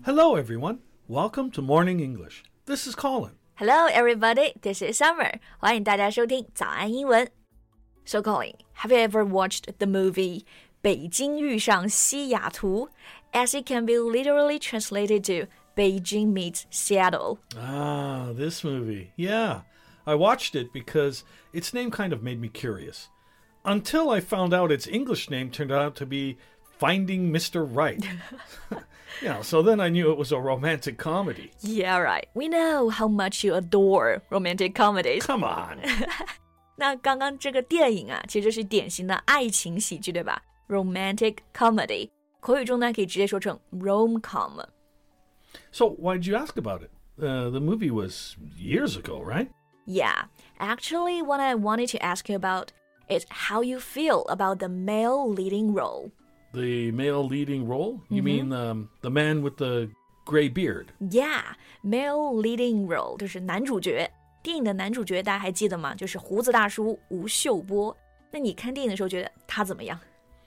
Hello, everyone. Welcome to Morning English. This is Colin. Hello, everybody. This is Summer. 欢迎大家收听早安英文。So, Colin, have you ever watched the movie 北京遇上西雅图 as it can be literally translated to Beijing meets Seattle? Ah, this movie. Yeah, I watched it because its name kind of made me curious. Until I found out its English name turned out to be Finding Mr. Right. So then I knew it was a romantic comedy. Yeah, right. We know how much you adore romantic comedies. Come on. 那刚刚这个电影啊，其实就是典型的爱情喜剧，对吧？ Romantic comedy. 口语中呢，可以直接说成 rom-com. So why'd you ask about it? The movie was years ago, right? Yeah. Actually, what I wanted to ask you about is how you feel about the male leading role. The male leading role? You mean the man with the gray beard? Yeah, male leading role 就是男主角。电影的男主角大家还记得吗？就是胡子大叔吴秀波。那你看电影的时候觉得他怎么样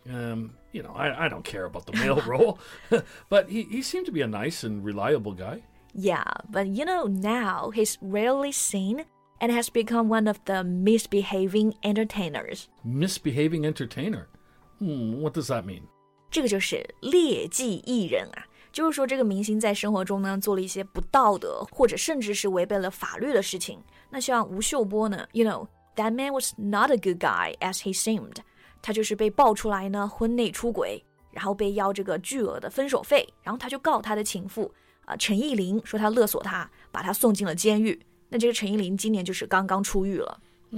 I don't care about the male role, but he seemed to be a nice and reliable guy. Yeah, but now he's rarely seen and has become one of the misbehaving entertainers. Misbehaving entertainer? What does that mean? 这个就是劣迹艺人啊，就是说这个明星在生活中呢做了一些不道德或者甚至是违背了法律的事情。那像吴秀波呢 that man was not a good guy as he seemed. 他就是被爆出来呢婚内出轨，然后被要这个巨额的分手费，然后他就告他的情妇陈意琳，说他勒索他，把他送进了监狱。那这个陈意琳今年就是刚刚出狱了。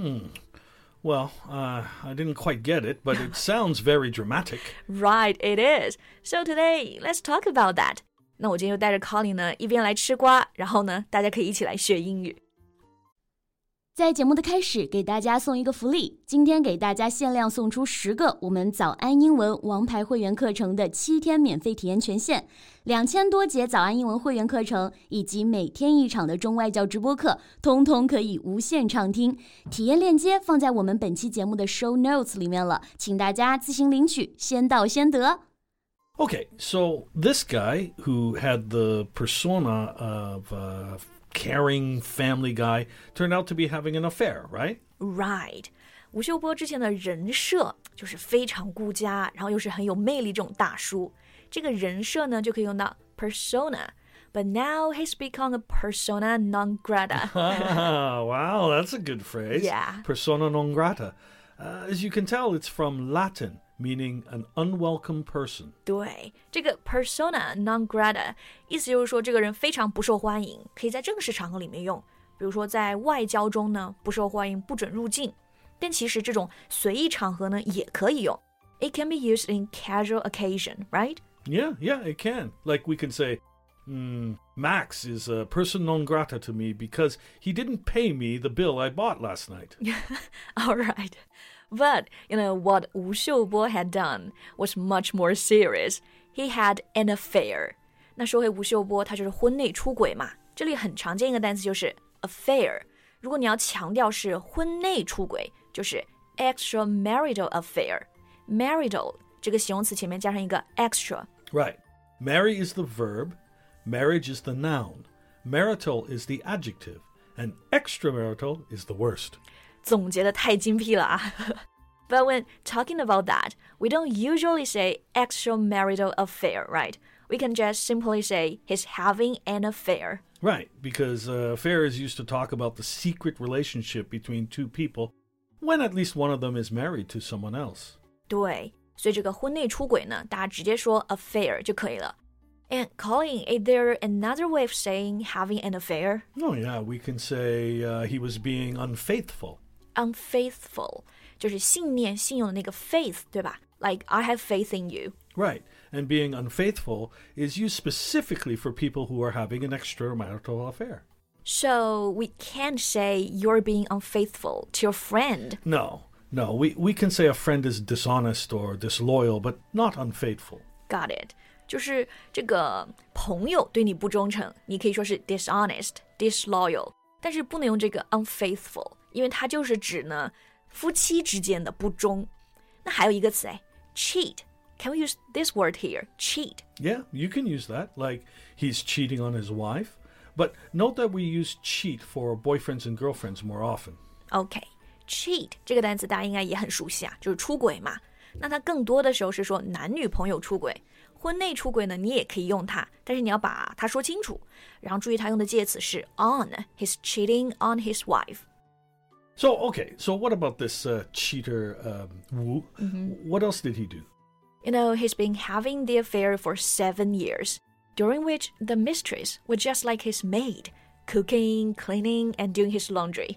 Well, I didn't quite get it, but it sounds very dramatic. Right, it is. So today, let's talk about that. 那我今天就带着 Colin 呢，一边来吃瓜，然后呢，大家可以一起来学英语。 在节目的开始，给大家送一个福利，今天给大家限量送出10个我们早安英文王牌会员课程的7天免费体验权限，2000多节早安英文会员课程以及每天1场的中外教直播课，通通可以无限畅听。体验链接放在我们本期节目的 show notes 里面了，请大家自行领取，先到先得。 Okay, so this guy who had the persona of caring family guy turned out to be having an affair, right? Right. 吴秀波之前的人设就是非常顾家，然后又是很有魅力这种大叔。这个人设呢就可以用到 persona. But now he's become a persona non grata. Wow, that's a good phrase. Yeah. Persona non grata. As you can tell, it's from Latin, meaning an unwelcome person. 对，这个 persona non grata 意思就是说这个人非常不受欢迎，可以在正式场合里面用，比如说在外交中呢不受欢迎，不准入境。但其实这种随意场合呢也可以用。It can be used in casual occasion, right? Yeah, it can. Like we can say, Max is a person non grata to me because he didn't pay me the bill I bought last night. All right. But, what Wu Xiubo had done was much more serious. He had an affair. 那说回吴秀波，他就是婚内出轨嘛。这里很常见一个单词就是 affair。如果你要强调是婚内出轨，就是 extramarital affair。marital 这个形容词前面加上一个 extra。 Right. Marry is the verb. Marriage is the noun. Marital is the adjective. And extramarital is the worst. 总结得太精辟了啊。But when talking about that, we don't usually say extramarital affair, right? We can just simply say he's having an affair. Right, because affair is used to talk about the secret relationship between two people when at least one of them is married to someone else. 对，所以这个婚内出轨呢，大家直接说 affair 就可以了。And Colin, is there another way of saying having an affair? Oh yeah, we can say he was being unfaithful. Unfaithful 就是信念信用的那个 faith 对吧 Like I have faith in you. Right, and being unfaithful is used specifically for people who are having an extramarital affair. So we can't say you're being unfaithful to your friend. No, we can say a friend is dishonest or disloyal, but not unfaithful. Got it. 就是这个朋友对你不忠诚，你可以说是 dishonest, disloyal, 但是不能用这个 unfaithful， 因为它就是指呢夫妻之间的不忠。那还有一个词cheat can we use this word here, cheat? Yeah, you can use that, like he's cheating on his wife. But note that we use cheat for boyfriends and girlfriends more often. Okay, cheat 这个单词大家应该也很熟悉啊，就是出轨嘛。那它更多的时候是说男女朋友出轨，婚内出轨呢，你也可以用它，但是你要把它说清楚。然后注意它用的介词是 on, he's cheating on his wife. So, okay, so what about this cheater, Wu? What else did he do? You know, he's been having the affair for 7 years, during which the mistress was just like his maid, cooking, cleaning, and doing his laundry.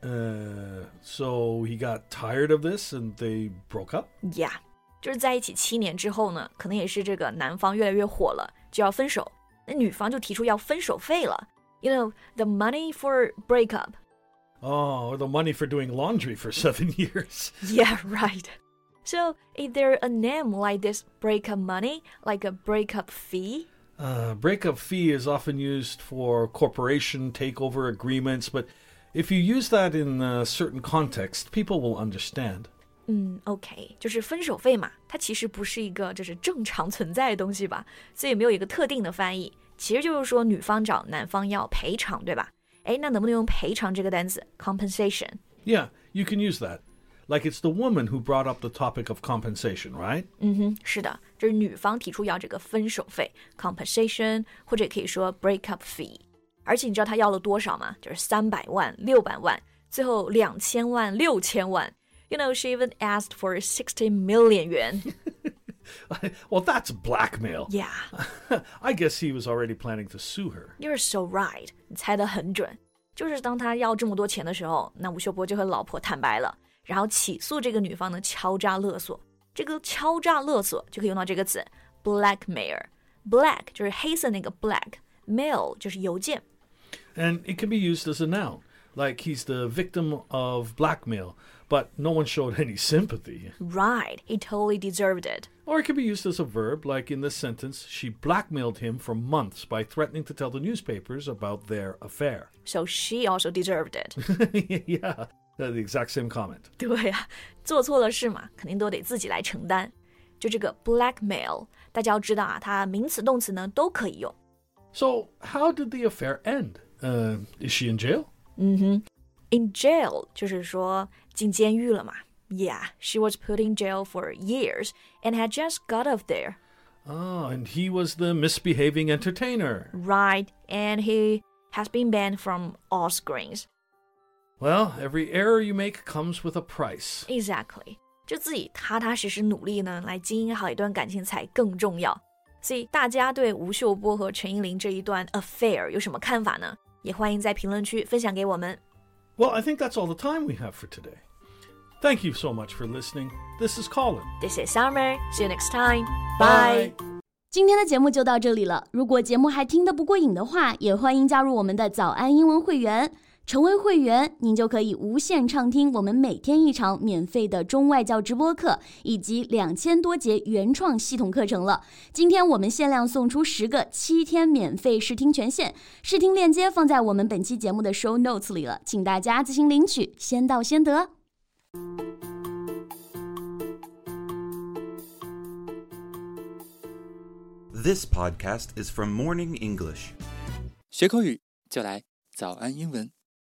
So he got tired of this and they broke up? Yeah, 就是在一起7年之后呢，可能也是这个男方越来越火了，就要分手。那女方就提出要分手费了。You know, the money for breakup. Oh, the money for doing laundry for 7 years. Yeah, right. So, is there a name like this breakup money, like a breakup fee? Breakup fee is often used for corporation takeover agreements, but if you use that in a certain context, people will understand. OK, 就是分手费嘛，它其实不是一个就是正常存在的东西吧，所以没有一个特定的翻译。其实就是说女方找男方要赔偿，对吧？哎，那能不能用赔偿这个单词 compensation? Yeah, you can use that. Like it's the woman who brought up the topic of compensation, right? 是的，这是女方提出要这个分手费 compensation， 或者也可以说 breakup fee。而且你知道他要了多少吗？就是300万、600万，最后2000万、6000万。You know, she even asked for 60 million yuan. Well, that's blackmail. Yeah. I guess he was already planning to sue her. You're so right. 你猜得很准。就是当他要这么多钱的时候，那吴秀波就和老婆坦白了，然后起诉这个女方呢敲诈勒索。这个敲诈勒索就可以用到这个词 blackmail。Black 就是黑色那个 black，mail 就是邮件。 And it can be used as a noun, like he's the victim of blackmail, but no one showed any sympathy. Right, he totally deserved it. Or it can be used as a verb, like in this sentence, she blackmailed him for months by threatening to tell the newspapers about their affair. So she also deserved it. Yeah, the exact same comment. 对啊，做错了事嘛，肯定都得自己来承担。就这个 blackmail， 大家要知道啊，它名词动词呢都可以用。 So, how did the affair end? Is she in jail? In jail 就是说进监狱了嘛。Yeah, she was put in jail for years and had just got off there. Oh, and he was the misbehaving entertainer. Right, and he has been banned from all screens. Well, every error you make comes with a price. Exactly. 就自己踏踏实实努力呢，来经营好一段感情才更重要。所以大家对吴秀波和陈英玲这一段 affair 有什么看法呢？也欢迎在评论区分享给我们。 Well, I think that's all the time we have for today. Thank you so much for listening. This is Colin. This is Summer. See you next time. Bye. 今天的节目就到这里了。如果节目还听得不过瘾的话，也欢迎加入我们的早安英文会员。成为会员，您就可以无限畅听我们每天一场免费的中外教直播课，以及2000多节原创系统课程了。今天我们限量送出10个7天免费试听权限，试听链接放在我们本期节目的 show notes 里了，请大家自行领取，先到先得。 This podcast is from Morning English. 学口语就来早安英文。